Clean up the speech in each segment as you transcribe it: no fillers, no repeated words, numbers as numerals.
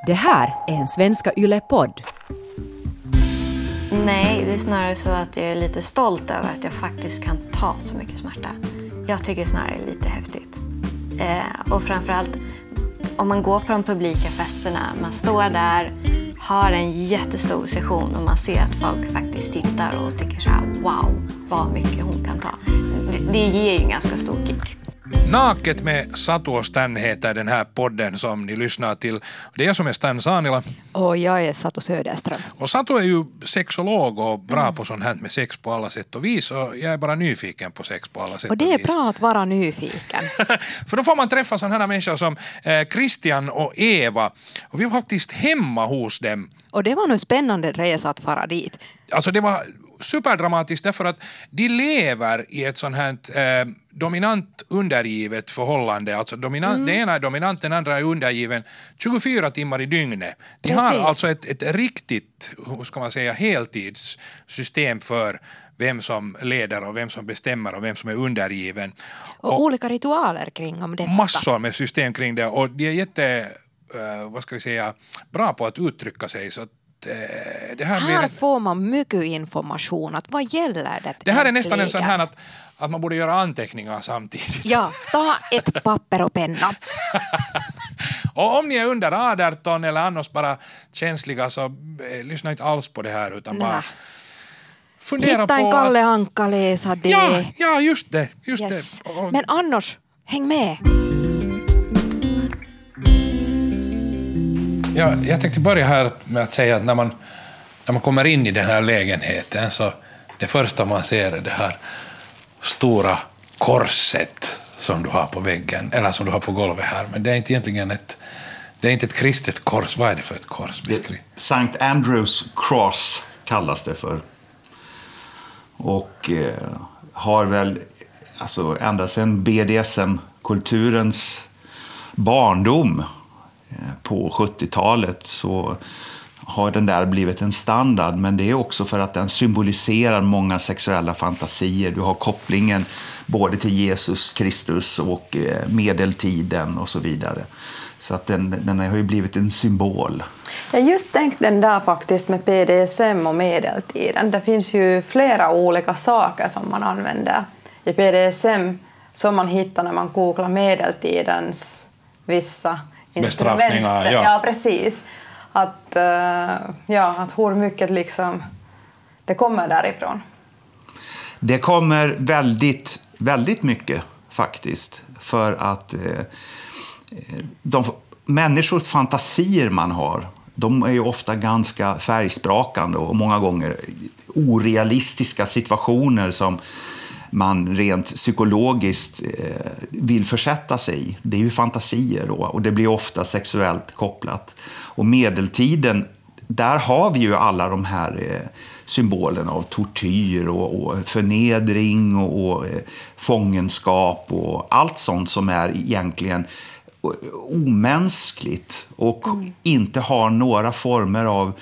Det här är en Svenska Yle-podd. Nej, det är snarare så att jag är lite stolt över att jag faktiskt kan ta så mycket smärta. Jag tycker snarare det är lite häftigt. Och framförallt om man går på de publika festerna, man står där, har en jättestor session och man ser att folk faktiskt tittar och tycker så här: wow, vad mycket hon kan ta. Det ger ju en ganska stor kick. Naket med Satu och Stan heter den här podden som ni lyssnar till. Det är jag som är Stan Sanila. Och jag är Satu Söderström. Och Satu är ju sexolog och bra på sånt här med sex på alla sätt och vis. Och jag är bara nyfiken på sex på alla sätt och vis. Och det är bra att vara nyfiken. För då får man träffa sådana här människor som Christian och Eva. Och vi var faktiskt hemma hos dem. Och det var nog spännande resa att fara dit. Alltså det var superdramatiskt därför att de lever i ett sånt här dominant undergivet förhållande. Alltså den ena är dominant, den andra är undergiven 24 timmar i dygnet. De har alltså ett riktigt, hur ska man säga, heltidssystem för vem som leder och vem som bestämmer och vem som är undergiven. Och olika ritualer kring om detta. Massor med system kring det och de är jätte, vad ska vi säga, bra på att uttrycka sig så att det här får man mycket information att vad gäller det. Det här är nästan en sån här att man borde göra anteckningar samtidigt. Ja, ta ett papper och penna. Och om ni är under 18 eller annars bara känsliga så lyssna inte alls på det här utan bara fundera på hitta en Kalle Anka läsa det. Ja, just det. Men annars, häng med. Ja, jag tänkte börja här med att säga att när man kommer in i den här lägenheten så det första man ser är det här stora korset som du har på väggen eller som du har på golvet här. Men det är inte egentligen ett kristet kors. Vad är det för ett kors? Sankt Andrews Cross kallas det för. Och har väl alltså ända sedan BDSM-kulturens barndom på 70-talet så har den där blivit en standard, men det är också för att den symboliserar många sexuella fantasier. Du har kopplingen både till Jesus Kristus och medeltiden och så vidare. Så att den har ju blivit en symbol. Jag just tänkte den där faktiskt med BDSM och medeltiden. Det finns ju flera olika saker som man använder i BDSM som man hittar när man googlar medeltidens vissa bestraffningar. Ja, precis. Att hur mycket liksom det kommer därifrån. Det kommer väldigt, väldigt mycket faktiskt. För att de människors fantasier man har, de är ju ofta ganska färgsprakande och många gånger orealistiska situationer som man rent psykologiskt vill försätta sig i. Det är ju fantasier då, och det blir ofta sexuellt kopplat. Och medeltiden, där har vi ju alla de här symbolerna av tortyr och förnedring och fångenskap och allt sånt som är egentligen omänskligt och inte har några former av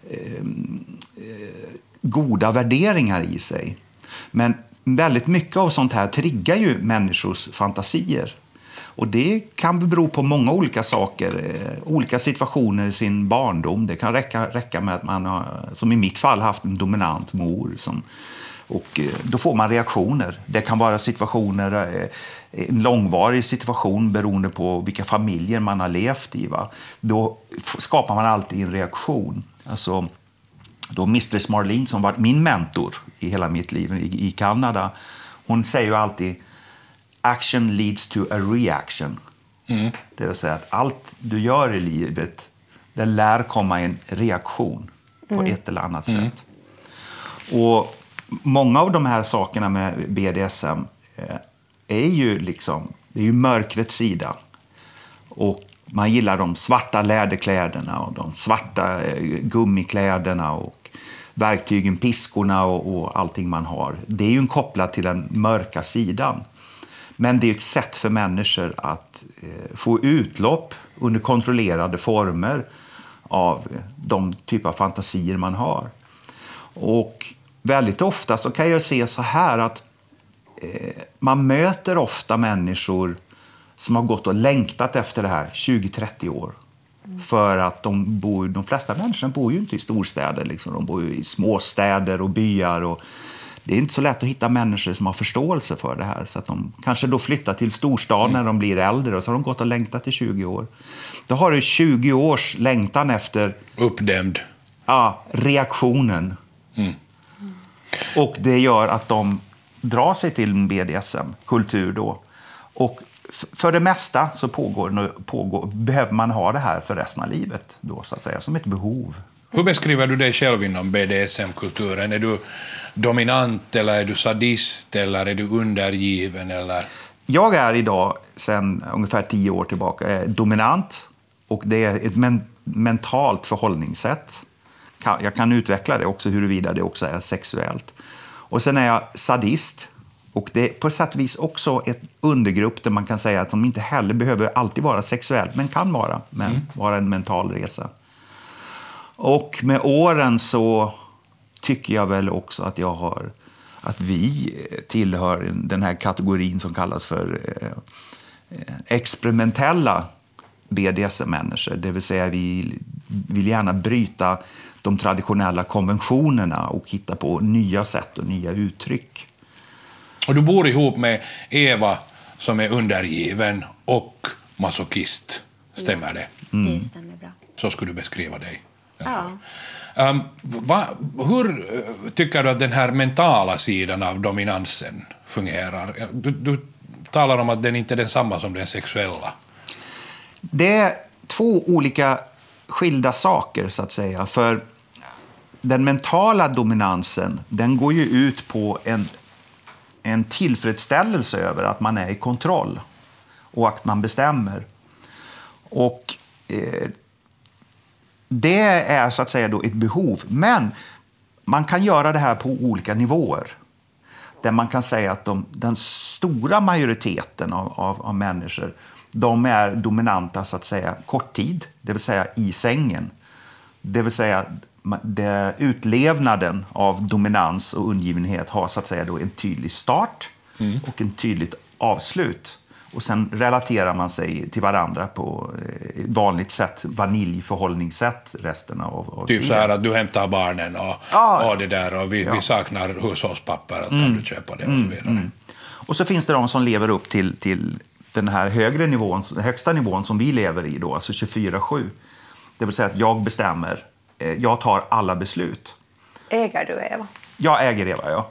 goda värderingar i sig. Men väldigt mycket av sånt här triggar ju människors fantasier. Och det kan bero på många olika saker, olika situationer i sin barndom. Det kan räcka med att man har, som i mitt fall, haft en dominant mor. Och då får man reaktioner. Det kan vara situationer, en långvarig situation beroende på vilka familjer man har levt i. Va? Då skapar man alltid en reaktion. Alltså, då Mistress Marlene, som var min mentor i hela mitt liv i Kanada, hon säger ju alltid action leads to a reaction. Det vill säga att allt du gör i livet, det lär komma en reaktion på ett eller annat sätt. Och många av de här sakerna med BDSM är ju liksom, det är ju mörkrets sida. Och man gillar de svarta läderkläderna och de svarta gummikläderna och verktygen, piskorna och allting man har. Det är ju kopplat till den mörka sidan. Men det är ett sätt för människor att få utlopp under kontrollerade former av de typer av fantasier man har. Och väldigt ofta så kan jag se så här att man möter ofta människor som har gått och längtat efter det här 20-30 år. För att de flesta människor bor ju inte i storstäder. Liksom. De bor ju i småstäder och byar. Och det är inte så lätt att hitta människor som har förståelse för det här. Så att de kanske då flyttar till storstad när de blir äldre. Och så har de gått och längtat i 20 år. Då har du 20 års längtan efter... Uppdämd. Ja, reaktionen. Och det gör att de drar sig till en BDSM-kultur då. Och för det mesta så behöver man ha det här för resten av livet då, så att säga, som ett behov. Hur beskriver du dig själv inom BDSM-kulturen? Är du dominant eller är du sadist eller är du undergiven? Eller? Jag är idag, sedan ungefär 10 år tillbaka, dominant, och det är ett mentalt förhållningssätt. Jag kan utveckla det också, huruvida det också är sexuellt. Och sen är jag sadist. Och det är på sätt och vis också ett undergrupp där man kan säga att de inte heller behöver alltid vara sexuellt, men kan vara en mental resa. Och med åren så tycker jag väl också att vi tillhör den här kategorin som kallas för experimentella BDSM-människor. Det vill säga vi vill gärna bryta de traditionella konventionerna och hitta på nya sätt och nya uttryck. Och du bor ihop med Eva som är undergiven och masochist. Stämmer det? Det stämmer bra. Så skulle du beskriva dig. Ja. Hur tycker du att den här mentala sidan av dominansen fungerar? Du talar om att den inte är densamma som den sexuella. Det är 2 olika skilda saker, så att säga. För den mentala dominansen, den går ju ut på en tillfredsställelse över att man är i kontroll och att man bestämmer. Och det är så att säga då ett behov. Men man kan göra det här på olika nivåer. Där man kan säga att den stora majoriteten av människor, de är dominanta så att säga kort tid, det vill säga i sängen. Det vill säga utlevnaden av dominans och undergivenhet har så att säga då en tydlig start och en tydligt avslut. Och sen relaterar man sig till varandra på ett vanligt sätt, vaniljförhållningssätt resten av typ tiden. Så här att du hämtar barnen och det där och vi saknar hushållspapper, att kan du köpa det och så vidare. Och så finns det de som lever upp till den här högre nivån, högsta nivån som vi lever i då, alltså 24/7. Det vill säga att jag bestämmer, jag tar alla beslut. Äger du Eva? Jag äger Eva, ja.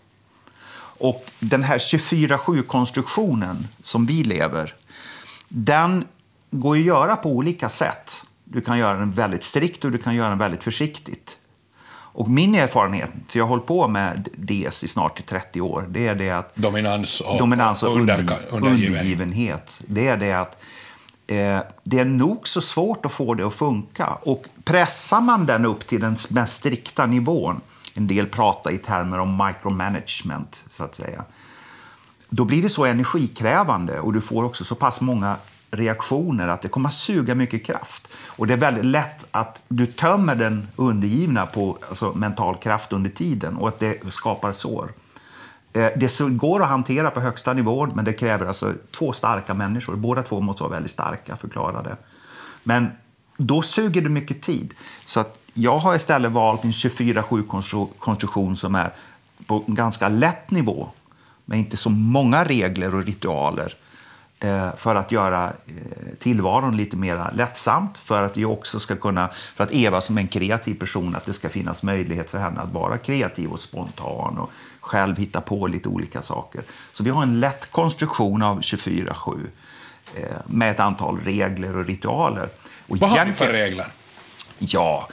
Och den här 24/7-konstruktionen som vi lever, den går att göra på olika sätt. Du kan göra den väldigt strikt och du kan göra den väldigt försiktigt. Och min erfarenhet, för jag har hållit på med DS i snart 30 år, det är det att dominans och undergivenhet. Det är det att det är nog så svårt att få det att funka. Och pressar man den upp till den mest strikta nivån, en del pratar i termer om micromanagement så att säga, då blir det så energikrävande och du får också så pass många reaktioner att det kommer att suga mycket kraft. Och det är väldigt lätt att du tömmer den undergivna på mental kraft under tiden och att det skapar sår. Det går att hantera på högsta nivån, men det kräver alltså 2 starka människor. Båda 2 måste vara väldigt starka, förklarade. Men då suger det mycket tid. Så att jag har istället valt en 24/7-konstruktion som är på en ganska lätt nivå, med inte så många regler och ritualer, för att göra tillvaron lite mer lättsamt, för att jag också ska kunna, för att Eva som är en kreativ person, att det ska finnas möjlighet för henne att vara kreativ och spontan och själv hitta på lite olika saker. Så vi har en lätt konstruktion av 24/7 med ett antal regler och ritualer. Och vad har ni för regler? Ja,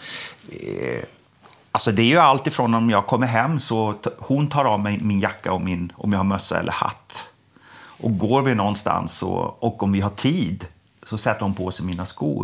alltså det är ju allt ifrån om jag kommer hem så hon tar av mig min jacka och om jag har mössa eller hatt. Och går vi någonstans och om vi har tid så sätter hon på sig mina skor.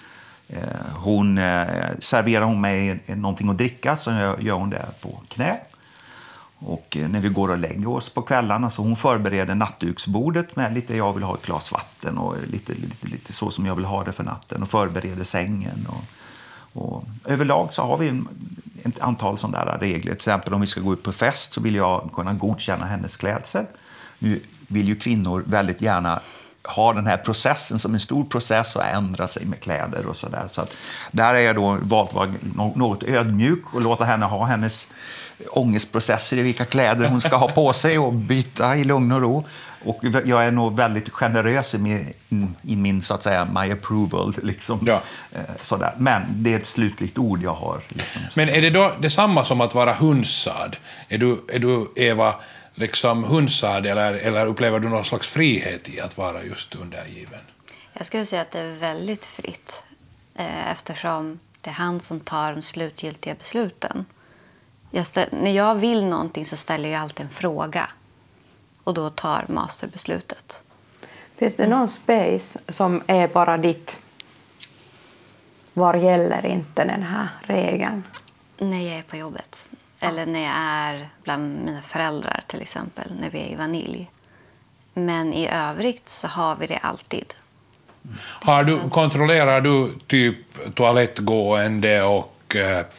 Serverar hon mig någonting att dricka så gör hon det på knä. Och när vi går och lägger oss på kvällarna så hon förbereder nattduksbordet med lite, jag vill ha ett glas vatten och lite så som jag vill ha det för natten, och förbereder sängen. Och överlag så har vi ett antal sådana där regler. Till exempel om vi ska gå ut på fest så vill jag kunna godkänna hennes klädsel. Nu vill ju kvinnor väldigt gärna ha den här processen som en stor process och ändra sig med kläder och sådär. Så att där är jag då valt att vara något ödmjuk och låta henne ha hennes ångestprocesser i vilka kläder hon ska ha på sig och byta i lugn och ro. Och jag är nog väldigt generös i min, så att säga, my approval. Liksom. Ja. Sådär. Men det är ett slutligt ord jag har. Liksom. Men är det då detsamma som att vara hunsad? Är du Eva, liksom hunsad eller upplever du någon slags frihet i att vara just undergiven? Jag skulle säga att det är väldigt fritt eftersom det är han som tar de slutgiltiga besluten. När jag vill någonting så ställer jag alltid en fråga och då tar masterbeslutet. Finns det någon space som är bara ditt? Var gäller inte den här regeln? När jag är på jobbet. Eller när jag är bland mina föräldrar till exempel. När vi är i vanilj. Men i övrigt så har vi det alltid. Kontrollerar du typ toalettgående och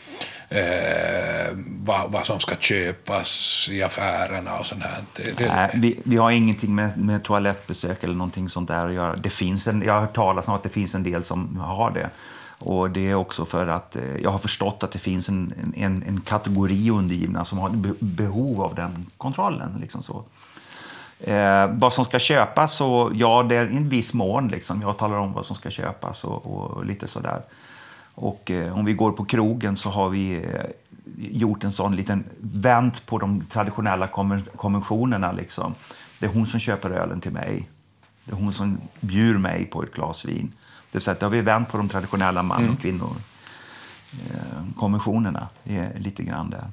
vad som ska köpas i affärerna och sånt här? Nej, vi har ingenting med toalettbesök eller någonting sånt där att göra. Jag har hört talas om att det finns en del som har det. Och det är också för att jag har förstått att det finns en kategori undergivna som har behov av den kontrollen. Liksom så. Vad som ska köpas, så ja, det är en viss mån. Liksom. Jag talar om vad som ska köpas och lite sådär. Och om vi går på krogen så har vi gjort en sån liten vänt på de traditionella konventionerna. Liksom. Det är hon som köper ölen till mig. Det är hon som bjuder mig på ett glas vin. Det vill säga att då har vi vänt på de traditionella man- och kvinnokonventionerna. Det är lite grann där.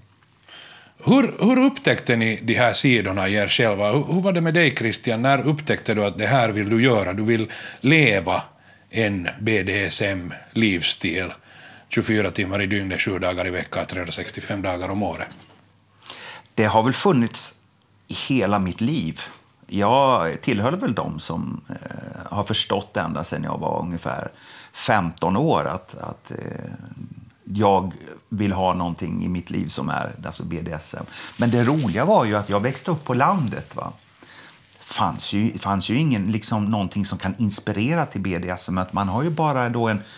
Hur upptäckte ni de här sidorna i er själva? Hur var det med dig, Christian? När upptäckte du att det här vill du göra? Du vill leva en BDSM-livsstil 24 timmar i dygnet, 7 dagar i veckan, 365 dagar om året. Det har väl funnits i hela mitt liv. Jag tillhör väl de som har förstått ända sedan jag var ungefär 15 år att jag vill ha någonting i mitt liv som är alltså BDSM. Men det roliga var ju att jag växte upp på landet. Va? Fanns ju ingen liksom någonting som kan inspirera till BDSM. Att man har ju bara då en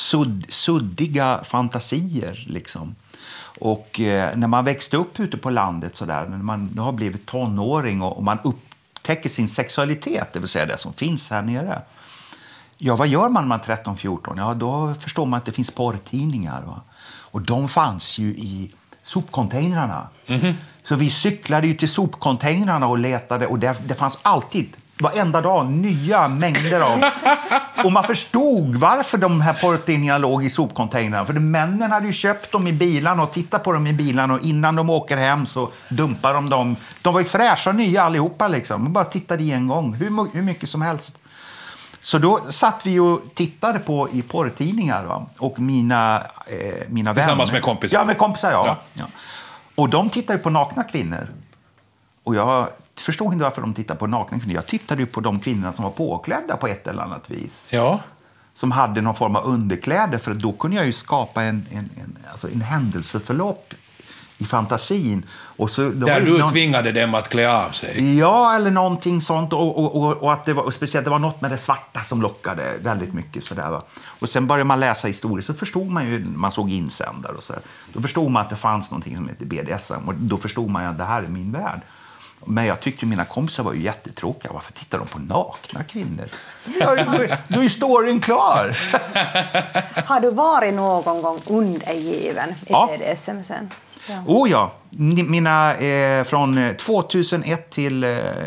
suddiga fantasier liksom. Och när man växte upp ute på landet så där, när man har blivit tonåring och man upptäcker sin sexualitet, det vill säga det som finns här nere. Ja, vad gör man när man är 13-14? Ja, då förstår man att det finns porrtidningar. Va? Och de fanns ju i sopcontainrarna. Mm-hmm. Så vi cyklade ju till sopcontainrarna och letade. Och det fanns alltid, varenda dag, nya mängder av. Och man förstod varför de här porrtidningarna låg i sopcontainrarna. För männen hade ju köpt dem i bilarna och tittat på dem i bilarna. Och innan de åker hem så dumpar de dem. De var ju fräscha och nya allihopa liksom. Man bara tittade i en gång. Hur mycket som helst. Så då satt vi och tittade på i porrtidningar. Va? Och mina vänner. Tillsammans med kompisar? Ja, med kompisar, ja. Och de tittade ju på nakna kvinnor. Och jag förstod inte varför de tittade på nakna kvinnor. Jag tittade ju på de kvinnorna som var påklädda på ett eller annat vis. Ja. Som hade någon form av underkläder. För då kunde jag ju skapa en händelseförlopp i fantasin. Och så, där du tvingade dem att klä av sig? Ja, eller någonting sånt. Och att det var, och speciellt det var något med det svarta som lockade väldigt mycket. Sådär, va? Och sen började man läsa historier så förstod man ju, man såg insändare och så. Då förstod man att det fanns någonting som heter BDSM. Och då förstod man ju att det här är min värld. Men jag tyckte mina kompisar var ju jättetråkiga. Varför tittar de på nakna kvinnor? Då är storyn klar. Har du varit någon gång undergiven i BDSM sen? Ja. Oh ja, mina från 2001 till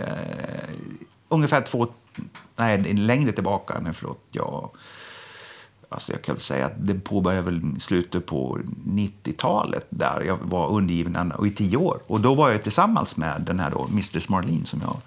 ungefär längre tillbaka. Nej, förlåt. Alltså jag kan säga att det påbörjade väl slutet på 90-talet där jag var undergiven och i 10 år. Och då var jag tillsammans med den här då, Mistress Marlene som jag...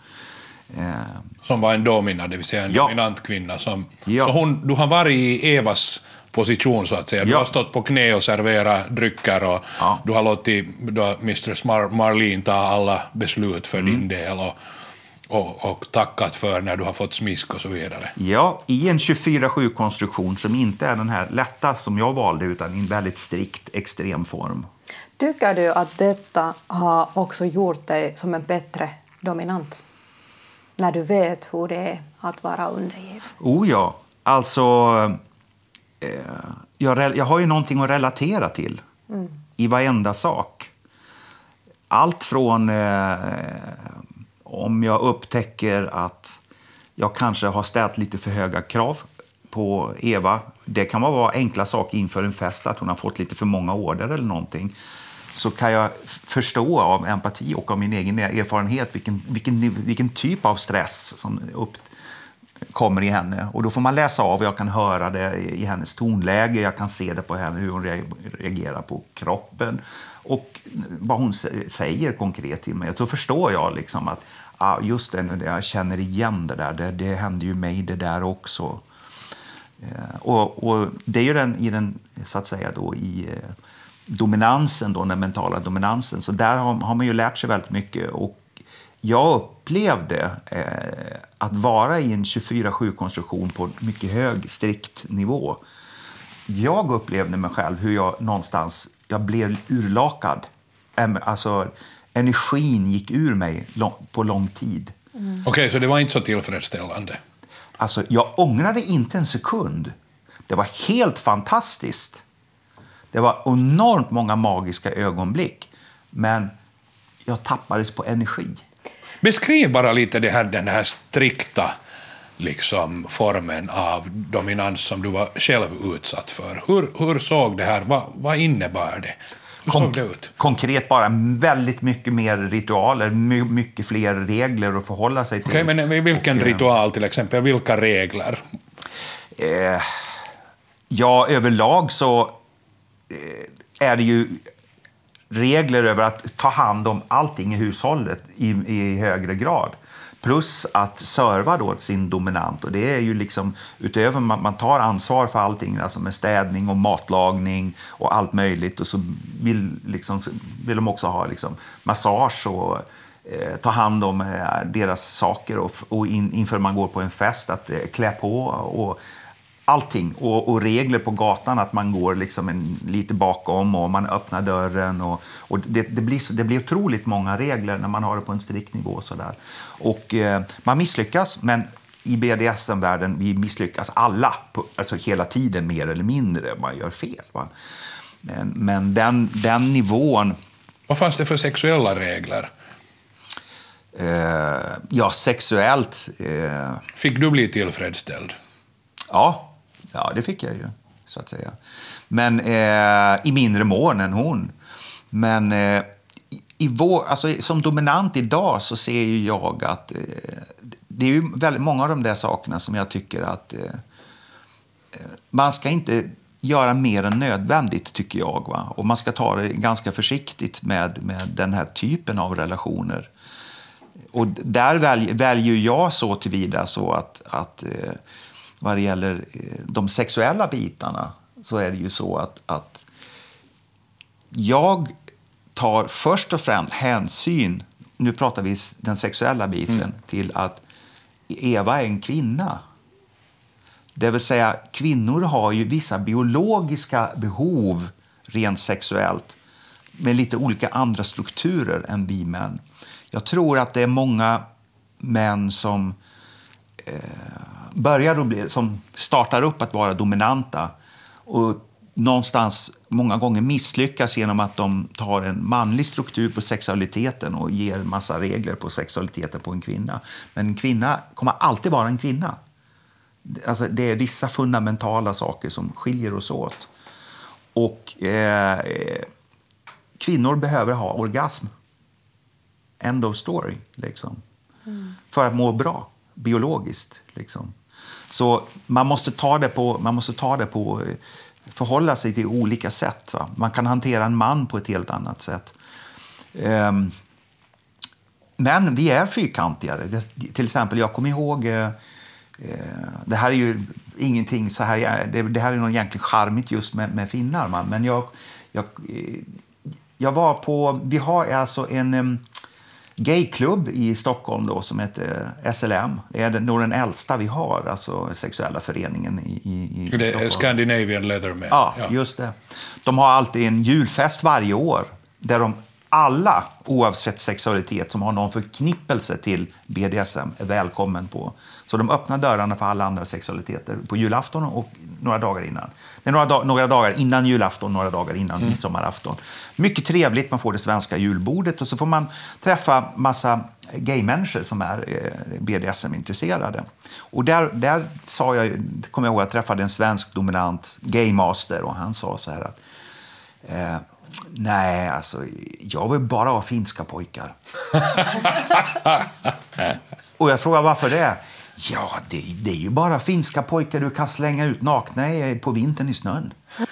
Som var en domina, det vill säga en dominant kvinna. Som, ja. Så du har varit i Evas position så att säga. Du har stått på knä och serverat drycker och du har låtit Mistress Marlene ta alla beslut för din del och tackat för när du har fått smisk och så vidare. Ja, i en 24/7-konstruktion som inte är den här lätta som jag valde utan i en väldigt strikt extrem form. Tycker du att detta har också gjort dig som en bättre dominant? när du vet hur det är att vara undergiven? Oh ja, alltså jag har ju någonting att relatera till i varenda sak. Allt från om jag upptäcker att jag kanske har ställt lite för höga krav på Eva. Det kan vara enkla saker inför en fest, att hon har fått lite för många order eller någonting. Så kan jag förstå av empati och av min egen erfarenhet vilken typ av stress som kommer i henne. Och då får man läsa av, jag kan höra det i hennes tonläge, jag kan se det på henne, hur hon reagerar på kroppen och vad hon säger konkret till mig. Då förstår jag liksom att just det, jag känner igen det där, det händer ju mig det där också. Och det är ju i den så att säga då i dominansen då, den mentala dominansen, så där har man ju lärt sig väldigt mycket. Och jag upplevde att vara i en 24/7-konstruktion på mycket hög, strikt nivå. Jag upplevde mig själv hur jag blev urlakad. Alltså, energin gick ur mig på lång tid. Okej, så det var inte så tillfredsställande? Alltså, jag ångrade inte en sekund. Det var helt fantastiskt. Det var enormt många magiska ögonblick. Men jag tappades på energi. Beskriv bara lite den här strikta liksom, formen av dominans som du var själv utsatt för. Hur såg det här? Vad innebar det? Hur såg det ut? Konkret bara väldigt mycket mer ritualer, mycket fler regler att förhålla sig till. Okej, men vilken ritual till exempel? Vilka regler? Ja, överlag så är det ju regler över att ta hand om allting i hushållet i högre grad. Plus att serva då sin dominant. Och det är ju liksom utöver man tar ansvar för allting, alltså med städning och matlagning och allt möjligt. Och så vill de också ha liksom massage och ta hand om deras saker och inför man går på en fest att klä på och allting. Och regler på gatan, att man går liksom lite bakom och man öppnar dörren. Och det blir otroligt många regler när man har det på en strikt nivå. Så där. Och man misslyckas, men i BDSM-världen vi misslyckas alla. Alltså hela tiden mer eller mindre. Man gör fel. Va? Men den nivån... Vad fanns det för sexuella regler? Ja, sexuellt... Fick du bli tillfredsställd? Ja, det fick jag ju, så att säga. Men i mindre mån än hon. Men alltså, som dominant idag så ser ju jag att det är ju väldigt många av de där sakerna som jag tycker att man ska inte göra mer än nödvändigt, tycker jag. Va? Och man ska ta det ganska försiktigt med den här typen av relationer. Och där väljer jag så tillvida så att vad det gäller de sexuella bitarna så är det ju så att jag tar först och främst hänsyn, nu pratar vi den sexuella biten, till att Eva är en kvinna. Det vill säga, kvinnor har ju vissa biologiska behov rent sexuellt med lite olika andra strukturer än vi män. Jag tror att det är många män som som startar upp att vara dominanta och någonstans många gånger misslyckas genom att de tar en manlig struktur på sexualiteten och ger massa regler på sexualiteten på en kvinna. Men en kvinna kommer alltid vara en kvinna. Alltså det är vissa fundamentala saker som skiljer oss åt. Och kvinnor behöver ha orgasm. End of story, liksom. För att må bra, biologiskt, liksom. Så man måste ta det på förhålla sig till olika sätt. Va? Man kan hantera en man på ett helt annat sätt. Men vi är fyrkantigare. Till exempel, jag kommer ihåg... det här är ju ingenting så här... Det här är nog egentligen charmigt just med finnar. Man. Men jag var på... Vi har alltså en gayklubb i Stockholm då, som heter SLM. Det är nog den äldsta vi har, alltså sexuella föreningen i det Stockholm. Är Scandinavian Leatherman. Ja, just det. De har alltid en julfest varje år där de alla, oavsett sexualitet, som har någon förknippelse till BDSM är välkommen på. Så de öppnar dörrarna för alla andra sexualiteter på julafton och några dagar innan. Det är några dagar innan julafton, några dagar innan midsommarafton. Mycket trevligt, man får det svenska julbordet och så får man träffa massa gaymänniskor som är BDSM-intresserade. Och där sa jag, kommer jag ihåg, jag träffade en svensk dominant gaymaster och han sa så här att nej, alltså, jag vill bara ha finska pojkar. Och jag frågade varför det. Ja, det är ju bara finska pojkar du kan slänga ut nakna på vintern i snön.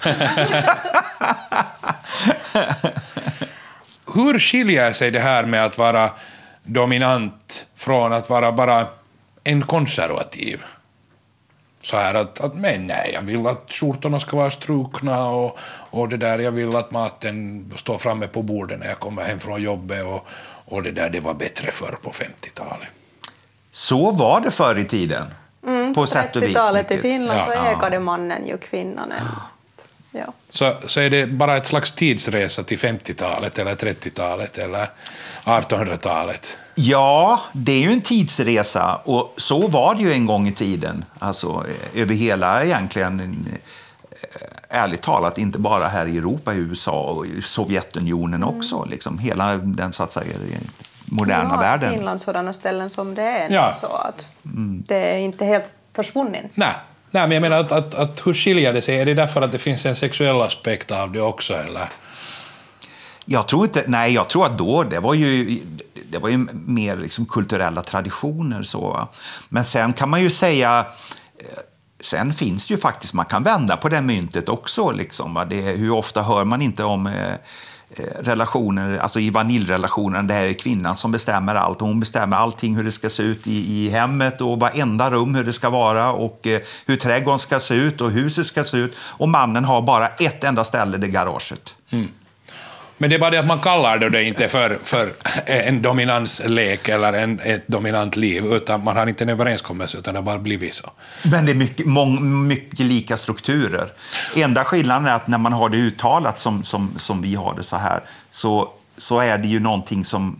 Hur skiljer sig det här med att vara dominant från att vara bara en konservativ? Så här att men nej, jag vill att skjortorna ska vara strukna och det där, jag vill att maten står framme på bordet när jag kommer hem från jobbet och det där, det var bättre förr på 50-talet. Så var det förr i tiden. På sätt och vis. 30-talet i mycket. Finland så ägade mannen ju kvinnan. Ja. Så är det bara ett slags tidsresa till 50-talet eller 30-talet eller 1800-talet? Ja, det är ju en tidsresa och så var det ju en gång i tiden. Alltså över hela egentligen, ärligt talat, inte bara här i Europa, i USA och i Sovjetunionen också. Liksom hela den, så att säga, moderna världen. Finland sådana ställen som det är. Ja. Så att det är inte helt försvunnit. Nej, men jag menar att hur skiljer det sig? Är det därför att det finns en sexuell aspekt av det också, eller? Jag tror inte, nej, jag tror att då det var ju mer liksom kulturella traditioner så, va? Men sen kan man ju säga, sen finns det ju faktiskt, man kan vända på det myntet också liksom, va? Hur ofta hör man inte om relationer, alltså i vaniljrelationen, det här är kvinnan som bestämmer allt och hon bestämmer allting, hur det ska se ut i hemmet och varenda rum hur det ska vara och hur trädgården ska se ut och huset ska se ut och mannen har bara ett enda ställe, det garaget. Men det är bara det att man kallar det inte för en dominanslek eller ett dominant liv, utan man har inte en överenskommelse, utan det har bara blivit så. Men det är mycket lika strukturer. Enda skillnaden är att när man har det uttalat som vi har det så här, så är det ju någonting som,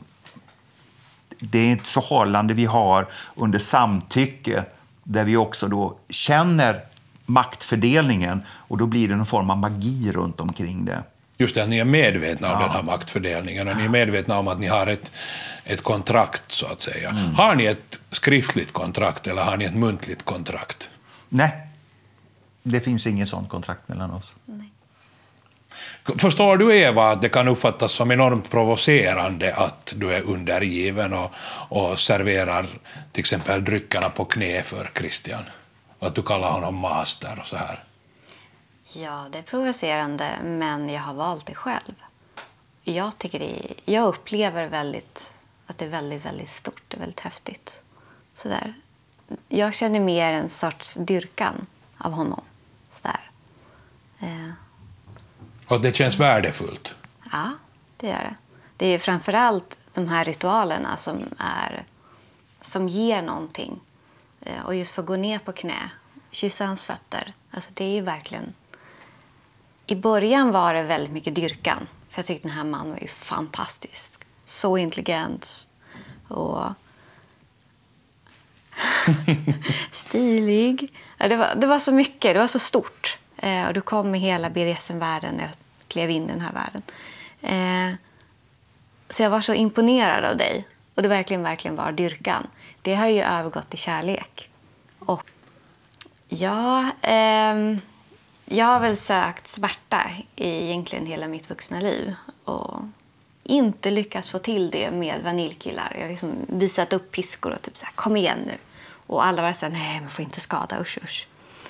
det är ett förhållande vi har under samtycke, där vi också då känner maktfördelningen och då blir det någon form av magi runt omkring det. Just det, att ni är medvetna om den här maktfördelningen och ni är medvetna om att ni har ett kontrakt, så att säga. Har ni ett skriftligt kontrakt eller har ni ett muntligt kontrakt? Nej, det finns ingen sån kontrakt mellan oss. Nej. Förstår du, Eva, att det kan uppfattas som enormt provocerande att du är undergiven och serverar till exempel dryckerna på knä för Christian? Och att du kallar honom master och så här? Ja, det är provocerande, men jag har valt det själv. Jag upplever att det är väldigt, väldigt stort, det är väldigt häftigt. Sådär. Jag känner mer en sorts dyrkan av honom. Sådär. Och det känns värdefullt? Ja, det gör det. Det är ju framförallt de här ritualerna som ger någonting. Och just få gå ner på knä, kyssa hans fötter. Alltså det är ju verkligen... I början var det väldigt mycket dyrkan. För jag tyckte den här mannen var ju fantastisk. Så intelligent och stilig. Ja, det var så mycket, det var så stort. Och du kom med hela BDSM-världen när jag klev in i den här världen. Så jag var så imponerad av dig. Och det verkligen var dyrkan. Det har ju övergått till kärlek. Och ja... Jag har väl sökt smärta i egentligen hela mitt vuxna liv och inte lyckats få till det med vaniljkillar. Jag har liksom visat upp piskor och typ så här, kom igen nu. Och alla var så här, nej, man får inte skada, usch.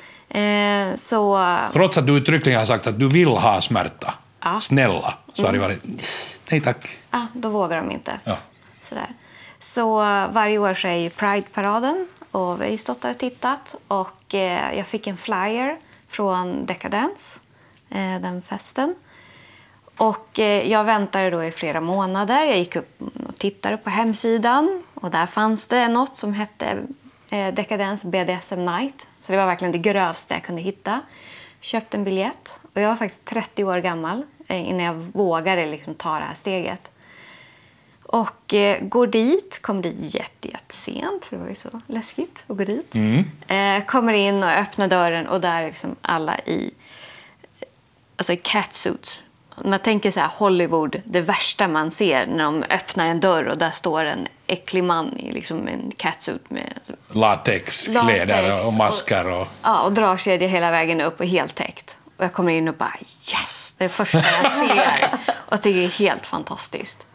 Trots att du uttryckligen har sagt att du vill ha smärta, ja. Snälla, så har det varit, nej tack. Ja, då vågar de inte. Ja. Så varje år så är ju Pride-paraden och vi har ju stått där och tittat och jag fick en flyer från Decadence, den festen. Och jag väntade då i flera månader. Jag gick upp och tittade på hemsidan. Och där fanns det något som hette Decadence BDSM Night. Så det var verkligen det grövsta jag kunde hitta. Köpte en biljett. Och jag var faktiskt 30 år gammal innan jag vågade liksom ta det här steget. Och kom dit jättesent, för det var ju så läskigt att gå dit. Kommer in och öppnar dörren och där är liksom alla i catsuits. Man tänker så här, Hollywood, det värsta man ser när de öppnar en dörr och där står en äcklig man i liksom en catsuit med latexkläder och masker. Och dragkedja hela vägen upp och helt täckt. Och jag kommer in och bara yes, det är det första jag ser och tycker det är helt fantastiskt.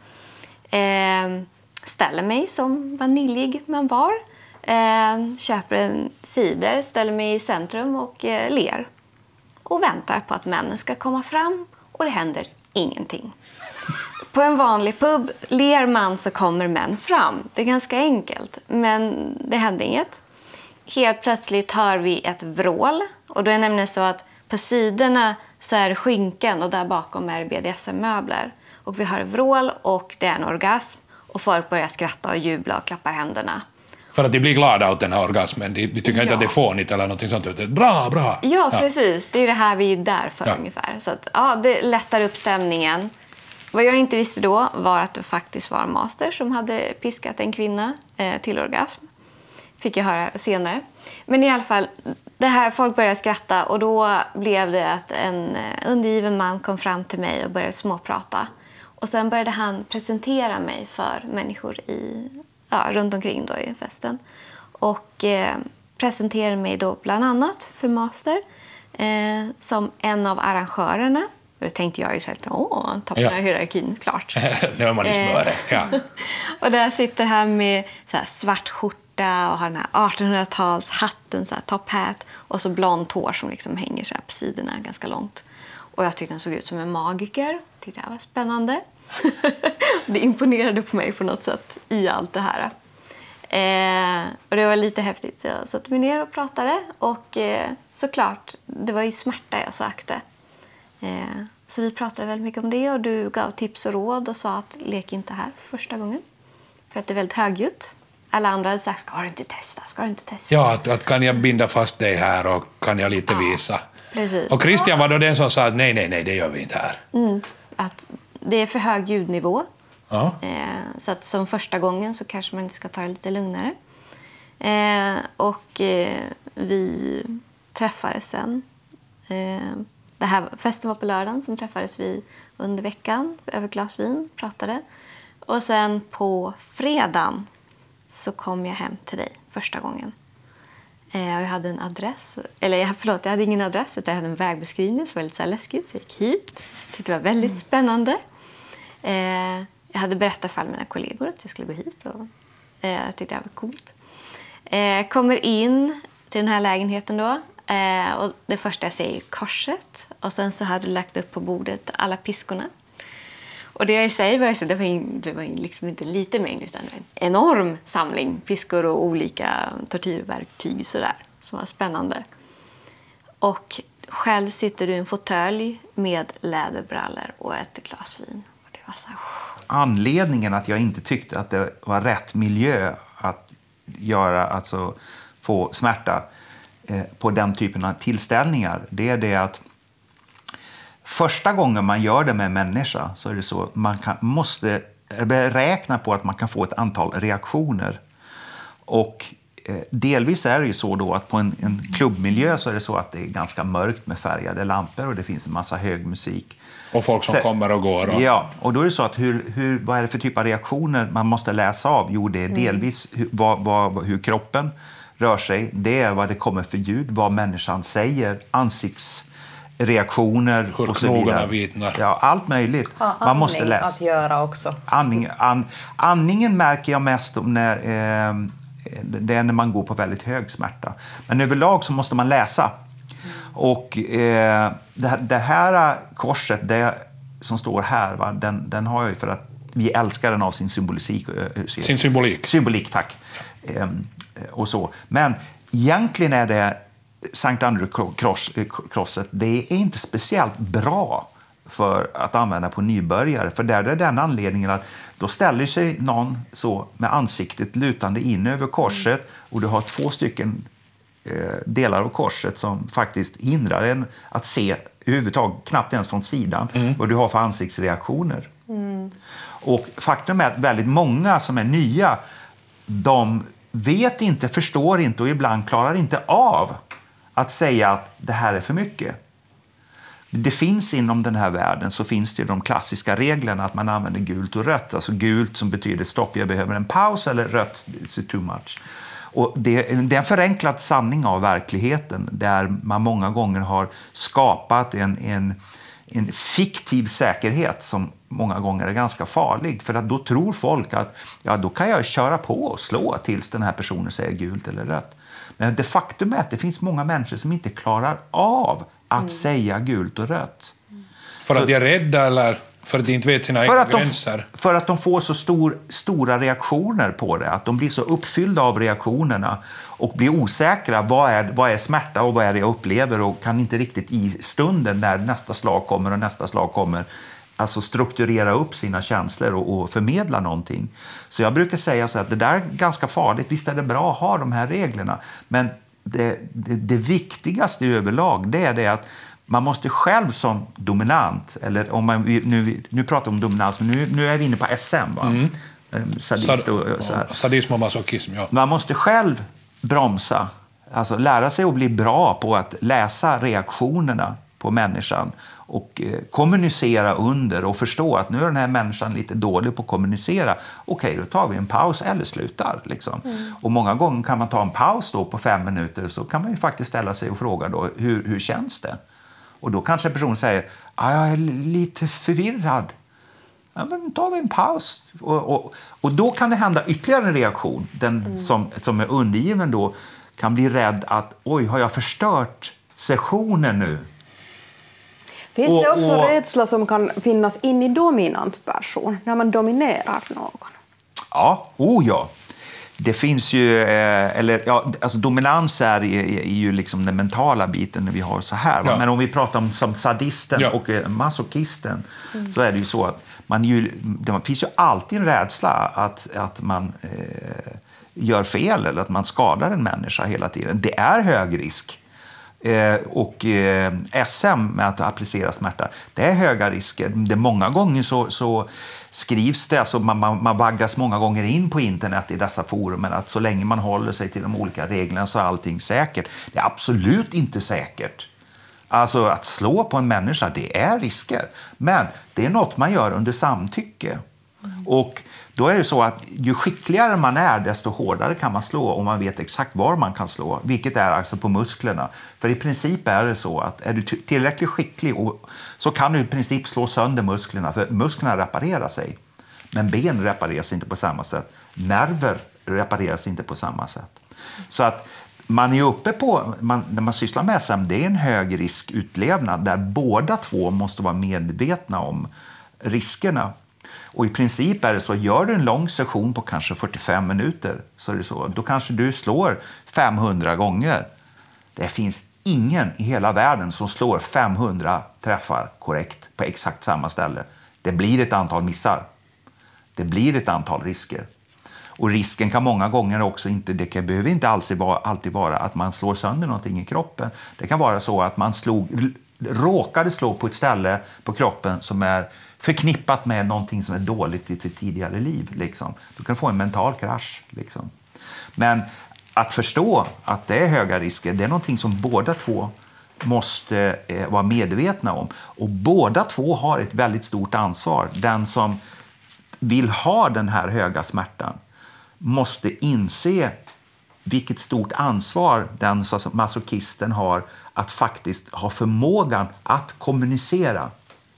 Ställer mig som vaniljig man var. Köper en cider, ställer mig i centrum och ler. Och väntar på att männen ska komma fram och det händer ingenting. På en vanlig pub ler man så kommer män fram. Det är ganska enkelt, men det händer inget. Helt plötsligt hör vi ett vrål och då är det nämligen så att på sidorna så är det skynken och där bakom är BDSM-möbler. Och vi hör vrål och det är en orgasm och folk börjar skratta och jubla och klappar händerna. För att de blir glada åt den här orgasmen. De tycker inte att det är fånigt eller något sånt. Bra! Ja, precis. Det är det här vi är där för ungefär. Så att, det lättar upp stämningen. Vad jag inte visste då var att det faktiskt var en master som hade piskat en kvinna till orgasm. Fick jag höra senare. Men i alla fall, det här, folk började skratta och då blev det att en undergiven man kom fram till mig och började småprata. Och sen började han presentera mig för människor runt omkring då i festen. Och presenterade mig då bland annat för master som en av arrangörerna. Och då tänkte jag ju så här, toppen av hierarkin, klart. Nu är man i smöre, ja. Och där sitter han med så här svart skjorta och har den här 1800-talshatten, så här top hat. Och så blont hår som liksom hänger så här på sidorna ganska långt. Och jag tyckte han såg ut som en magiker. Tyckte jag var spännande. Det imponerade på mig på något sätt i allt det här. Och det var lite häftigt. Så jag satte mig ner och pratade. Och såklart, det var ju smärta jag sökte. Så vi pratade väldigt mycket om det. Och du gav tips och råd och sa att lek inte här första gången. För att det är väldigt högljutt. Alla andra hade sagt, ska du inte testa? Ja, att kan jag binda fast dig här och kan jag lite visa. Precis. Och Christian var då den som sa att nej, det gör vi inte här. Att det är för hög ljudnivå. Ja. Så att som första gången så kanske man ska ta det lite lugnare. Vi träffades sen. Festen var på lördagen, som träffades vi under veckan över glas vin, pratade. Och sen på fredagen så kom jag hem till dig första gången. Jag hade en adress, jag hade ingen adress utan jag hade en vägbeskrivning som var lite så här läskigt. Så jag gick hit, tyckte det var väldigt spännande. Jag hade berättat för mina kollegor att jag skulle gå hit och jag tyckte det var coolt. Kommer in till den här lägenheten då och det första jag ser är korset och sen så hade du lagt upp på bordet alla piskorna. Och det jag säger var att det var liksom inte en liten mängd utan en enorm samling piskor och olika tortyrverktyg sådär, som var spännande. Och själv sitter du i en fåtölj med läderbrallor och ett glas vin. Och det var så här... Anledningen att jag inte tyckte att det var rätt miljö att få smärta på den typen av tillställningar, det är det att första gången man gör det med en människa så är det så man måste beräkna på att man kan få ett antal reaktioner. Och delvis är det ju så då att på en klubbmiljö så är det så att det är ganska mörkt med färgade lampor och det finns en massa hög musik. Och folk som kommer och går. Ja, och då är det så att vad är det för typ av reaktioner man måste läsa av? Jo, det är delvis hur kroppen rör sig. Det är vad det kommer för ljud, vad människan säger, ansiktsreaktioner hur och så vidare. Vitnar. Ja, allt möjligt. Man måste läsa. Att göra också. Andningen märker jag mest när det är när man går på väldigt hög smärta. Men överlag så måste man läsa. Och det här korset, det som står här, den har jag ju för att vi älskar den av sin symbolik. Sin symbolik. Symbolik, tack. Och så. Men egentligen är det Sankt Andrew-krosset, det är inte speciellt bra för att använda på nybörjare. För där är den anledningen att då ställer sig någon så med ansiktet lutande in över korset och du har 2 stycken delar av korset som faktiskt hindrar en att se överhuvudtaget, knappt ens från sidan, vad du har för ansiktsreaktioner. Och faktum är att väldigt många som är nya, de vet inte, förstår inte och ibland klarar inte av att säga att det här är för mycket. Det finns inom den här världen så finns det de klassiska reglerna att man använder gult och rött. Alltså gult som betyder stopp, jag behöver en paus, eller rött, it's too much. Och det är en förenklad sanning av verkligheten där man många gånger har skapat en fiktiv säkerhet som många gånger är ganska farlig. För att då tror folk att då kan jag köra på och slå tills den här personen säger gult eller rött. Men det faktum är att det finns många människor som inte klarar av att säga gult och rött. För att de är rädda eller för att de inte vet sina egna gränser? För att de får så stora reaktioner på det. Att de blir så uppfyllda av reaktionerna och blir osäkra. Vad är smärta och vad är det jag upplever? Och kan inte riktigt i stunden när nästa slag kommer alltså strukturera upp sina känslor och förmedla någonting. Så jag brukar säga så att det där är ganska farligt. Visst är det bra att ha de här reglerna. Men det viktigaste överlag, det är det att man måste själv som dominant, eller om man nu pratar om dominans, men nu är vi inne på SM, va? Sadism och masochism, ja. Man måste själv bromsa, alltså lära sig att bli bra på att läsa reaktionerna på människan och kommunicera under och förstå att nu är den här människan lite dålig på att kommunicera. Okej, då tar vi en paus eller slutar. Liksom. Och många gånger kan man ta en paus då på 5 minuter, så kan man ju faktiskt ställa sig och fråga då, hur känns det? Och då kanske en person säger, jag är lite förvirrad. Ja, men tar vi en paus. Och då kan det hända ytterligare en reaktion. Den som är undergiven då kan bli rädd att, har jag förstört sessionen nu? Finns det också rädsla som kan finnas in i dominant person, när man dominerar någon? Ja, ja. Det finns ju, alltså dominans är ju liksom den mentala biten när vi har så här. Ja. Men om vi pratar om som sadisten och masochisten, så är det ju så att det finns ju alltid en rädsla att man gör fel eller att man skadar en människa hela tiden. Det är hög risk. Och SM med att applicera smärta, det är höga risker. Det många gånger så skrivs det, alltså man vaggas många gånger in på internet i dessa forum, att så länge man håller sig till de olika reglerna så är allting säkert. Det är absolut inte säkert. Alltså att slå på en människa, det är risker. Men det är något man gör under samtycke. Och då är det så att ju skickligare man är, desto hårdare kan man slå, och man vet exakt var man kan slå, vilket är alltså på musklerna. För i princip är det så att är du tillräckligt skicklig så kan du i princip slå sönder musklerna, för musklerna reparerar sig. Men ben repareras inte på samma sätt. Nerver repareras inte på samma sätt. Så att man är uppe på, när man sysslar med SM, det är en hög risk utlevnad där båda två måste vara medvetna om riskerna. Och i princip är det så, gör du en lång session på kanske 45 minuter, så är det så, då kanske du slår 500 gånger. Det finns ingen i hela världen som slår 500 träffar korrekt på exakt samma ställe. Det blir ett antal missar. Det blir ett antal risker. Och risken kan många gånger också behöver inte alltid vara att man slår sönder någonting i kroppen. Det kan vara så att man råkade slå på ett ställe på kroppen som är förknippat med någonting som är dåligt i sitt tidigare liv. Liksom. Du kan få en mental krasch. Liksom. Men att förstå att det är höga risker, det är någonting som båda två måste vara medvetna om. Och båda två har ett väldigt stort ansvar. Den som vill ha den här höga smärtan måste inse vilket stort ansvar den masochisten har att faktiskt ha förmågan att kommunicera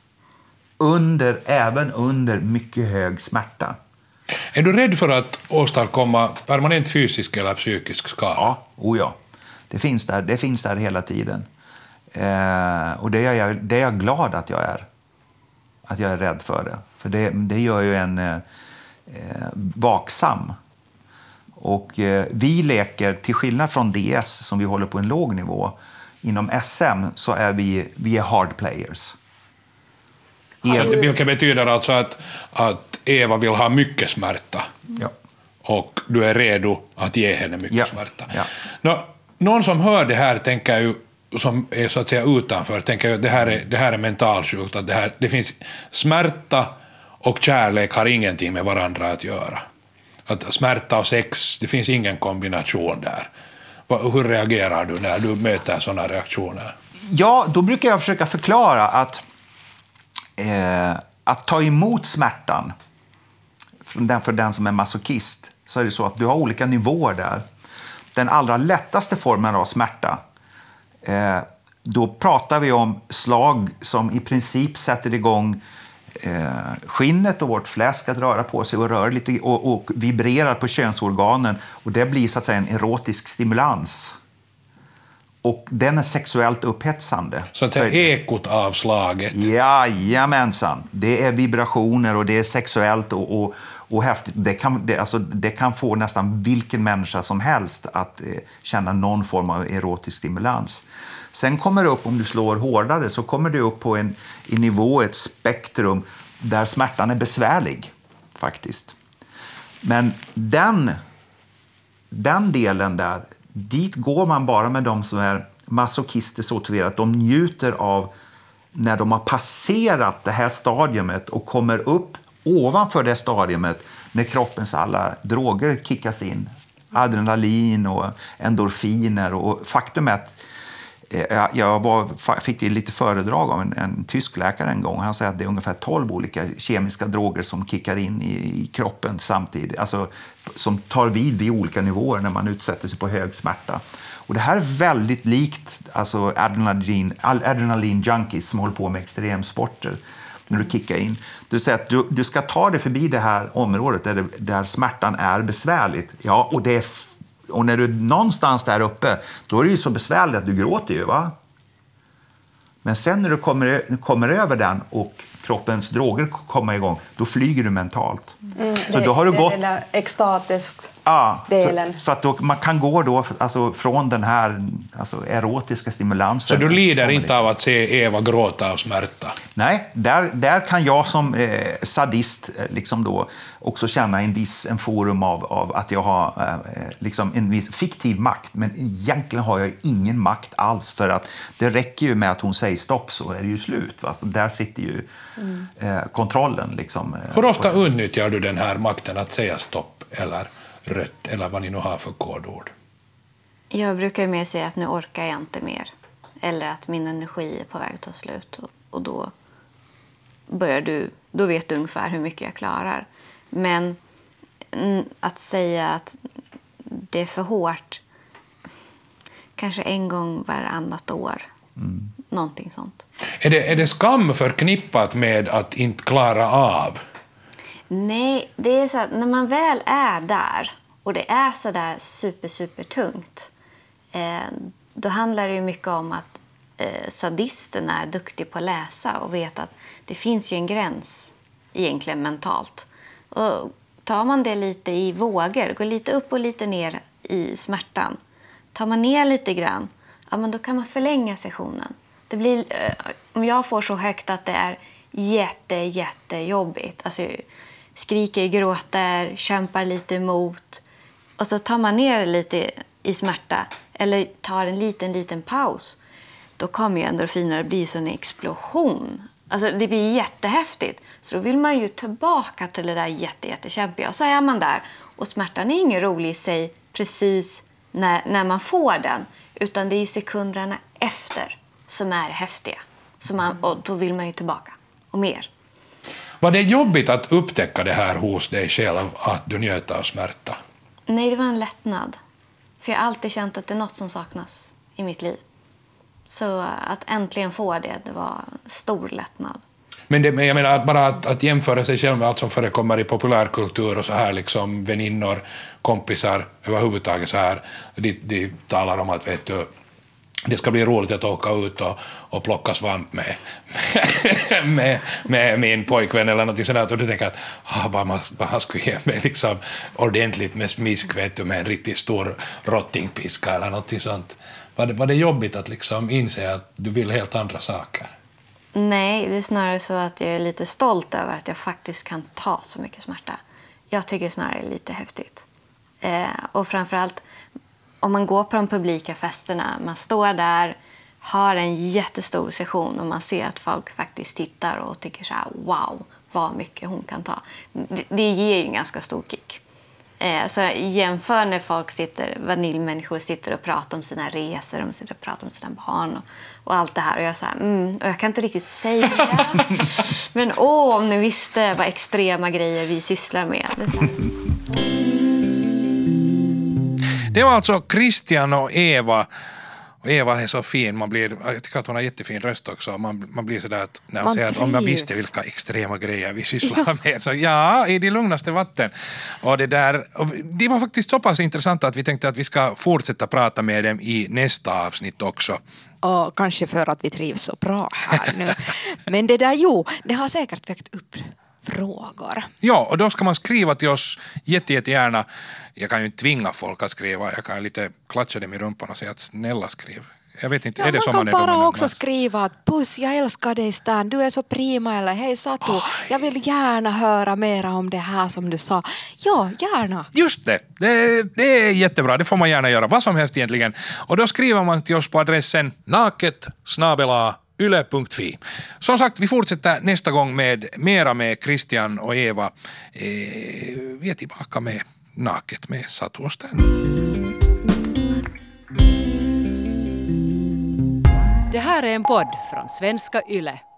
även under mycket hög smärta. Är du rädd för att åstadkomma permanent fysisk eller psykisk skada? Ja. Det finns där hela tiden. Och det är jag glad att jag är. Att jag är rädd för det. För det gör ju en vaksam. Och vi leker, till skillnad från DS som vi håller på en låg nivå, inom SM så är vi är hard players. Vilket betyder alltså att Eva vill ha mycket smärta. Ja. Och du är redo att ge henne mycket smärta. Ja. Någon som hör det här tänker ju, som är så att säga utanför, tänker ju att det här är mentalsjukt, att det finns smärta och kärlek har ingenting med varandra att göra. Att smärta och sex, det finns ingen kombination där. Hur reagerar du när du möter sådana reaktioner? Ja, då brukar jag försöka förklara att ta emot smärtan för den som är masochist, så är det så att du har olika nivåer där. Den allra lättaste formen av smärta, då pratar vi om slag som i princip sätter igång skinnet och vårt fläsk att röra på sig och röra lite och vibrerar på könsorganen, och det blir så att säga en erotisk stimulans. Och den är sexuellt upphetsande. Så att det är ekot av slaget. Jajamensan. Det är vibrationer och det är sexuellt och häftigt. Det kan få nästan vilken människa som helst att känna någon form av erotisk stimulans. Sen kommer det upp, om du slår hårdare, så kommer det upp på en nivå, ett spektrum där smärtan är besvärlig faktiskt. Men den delen där, dit går man bara med de som är masochister så tillvida att de njuter av när de har passerat det här stadiumet och kommer upp ovanför det stadiumet när kroppens alla droger kickas in. Adrenalin och endorfiner. Och faktum är att jag fick lite föredrag av en tysk läkare en gång. Han säger att det är ungefär 12 olika kemiska droger som kickar in i kroppen samtidigt. Alltså som tar vid olika nivåer när man utsätter sig på hög smärta. Och det här är väldigt likt alltså adrenalin junkies som håller på med extremsporter när du kickar in. Det vill säga att du ska ta dig förbi det här området där smärtan är besvärligt. Ja, och när du är någonstans där uppe, då är det ju så besvärligt att du gråter ju, va? Men sen när du kommer över den och kroppens droger kommer igång, då flyger du mentalt. Så då har du gått... Det är extatiskt. Ja, delen. så att man kan gå då, alltså, från den här erotiska stimulansen. Så du lider inte av att se Eva gråta av smärta? Nej, där kan jag som sadist liksom då också känna en forum av att jag har liksom en viss fiktiv makt. Men egentligen har jag ingen makt alls, för att det räcker ju med att hon säger stopp, så är det ju slut. Va? Så där sitter ju kontrollen. Liksom, hur ofta utnyttjar du den här makten att säga stopp eller rött eller vad ni nu har för kodord? Jag brukar ju mer säga att nu orkar jag inte mer. Eller att min energi är på väg att ta slut. Och då vet du ungefär hur mycket jag klarar. Men att säga att det är för hårt, kanske en gång varannat år. Någonting sånt. Är det skam förknippat med att inte klara av? Nej, det är så att när man väl är där och det är så där super tungt, då handlar det ju mycket om att sadisten är duktig på att läsa och vet att det finns ju en gräns egentligen mentalt. Och tar man det lite i vågor, går lite upp och lite ner i smärtan, tar man ner lite grann, ja, men då kan man förlänga sessionen. Det blir, om jag får så högt att det är jättejobbigt, alltså skriker, gråter, kämpar lite emot, och så tar man ner lite i smärta eller tar en liten paus, då kommer ju endorfiner, det blir så en explosion. Alltså det blir jättehäftigt. Så då vill man ju tillbaka till det där jättekämpiga. Och så är man där. Och smärtan är ingen rolig i sig precis när man får den. Utan det är ju sekunderna efter som är häftiga. Och då vill man ju tillbaka. Och mer. Var det jobbigt att upptäcka det här hos dig själv, att du njöt av smärta? Nej, det var en lättnad. För jag har alltid känt att det är något som saknas i mitt liv. Så att äntligen få det var stor lättnad. Men jag menar att bara att jämföra sig själv med allt som förekommer i populärkultur och så här, liksom väninnor, kompisar överhuvudtaget så här, de talar om att vet du, det ska bli roligt att åka ut och plocka svamp med min pojkvän eller något sådant, och du tänker att bara skulle ge mig liksom ordentligt med smisk, vet du, med en riktigt stor rottingpiska eller något sånt. Var det jobbigt att liksom inse att du vill helt andra saker? Nej, det är snarare så att jag är lite stolt över att jag faktiskt kan ta så mycket smärta. Jag tycker snarare det är lite häftigt. Och framförallt om man går på de publika festerna, man står där, har en jättestor session och man ser att folk faktiskt tittar och tycker så här: wow, vad mycket hon kan ta. Det ger ju en ganska stor kick. Så jämför när vaniljmänniskor sitter och pratar om sina resor, de sitter och pratar om sina barn och allt det här. Och jag så här, och jag kan inte riktigt säga. Men om ni visste vad extrema grejer vi sysslar med. Det var alltså Christian och Eva. Och Eva är så fin, jag tycker att hon har jättefin röst också. Man blir sådär att när hon säger att om jag visste vilka extrema grejer vi sysslar med. Så ja, i det lugnaste vatten. Och det var faktiskt så pass intressant att vi tänkte att vi ska fortsätta prata med dem i nästa avsnitt också. Och kanske för att vi trivs så bra här nu. Men det har säkert väckt upp frågor. Ja, och då ska man skriva till oss jättegärna. Jag kan ju inte tvinga folk att skriva. Jag kan lite klatscha dem i rumpan och säga att snälla skriv. Jag vet inte, är det som man är kan bara dominant? också skriva att puss, jag älskar dig Stan, du är så prima, eller hej Satu, jag vill gärna höra mera om det här som du sa. Ja, gärna. Just det. Det är jättebra, det får man gärna göra, vad som helst egentligen. Och då skriver man till oss på adressen naket@yle.fi. Som sagt, vi fortsätter nästa gång med mera med Christian och Eva. Vi är tillbaka med Naket med Satu och Stan. Det här är en podd från Svenska Yle.